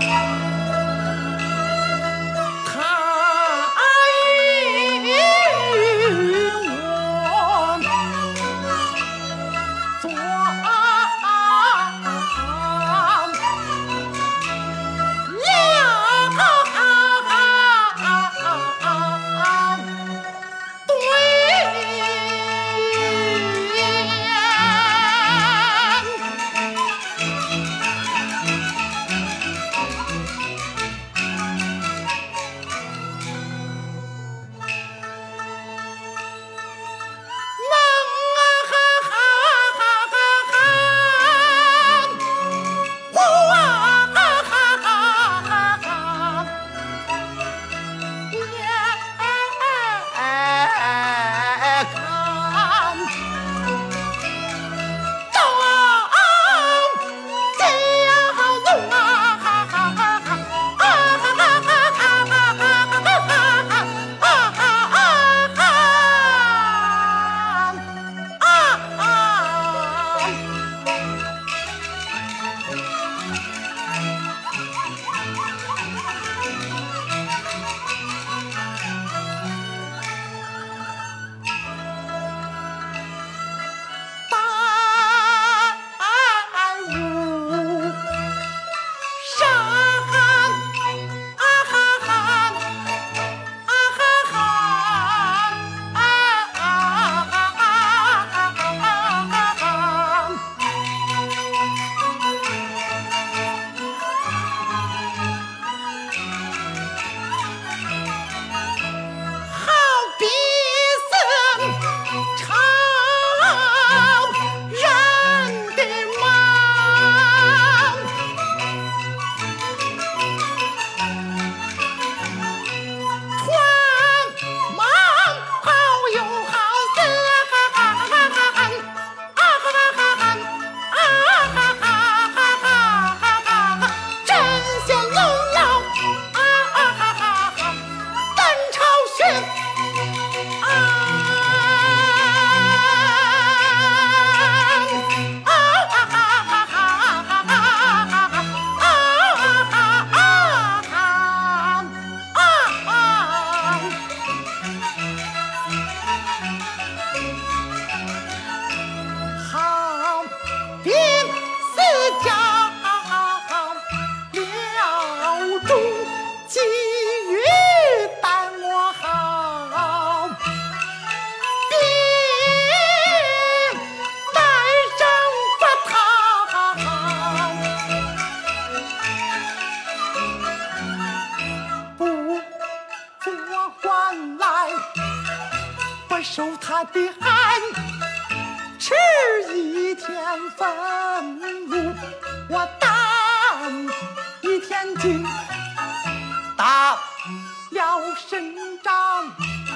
受他的寒，迟一天俸禄，我担一天金，打了胜仗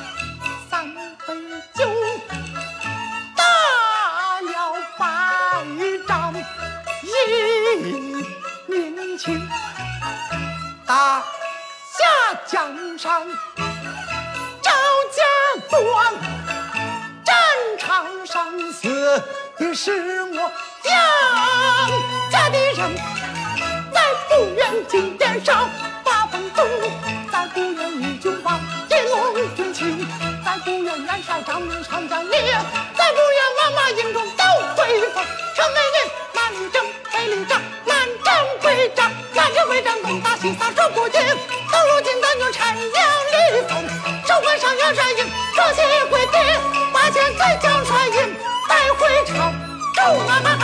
3杯酒，打了败仗1民情，打下江山赵家庄，战场上死的是我杨家的人，在不远金殿上八方东路，在不远义军王一龙军情，在不远元帅张明长江烈，在不远王马营中都回风，城内人满征北里仗，满征归仗，满征归仗东打西杀守不进，到如今咱就陈阳立风，手关上元帅营，双膝跪地，8千岁将帅营带回朝，祝啊！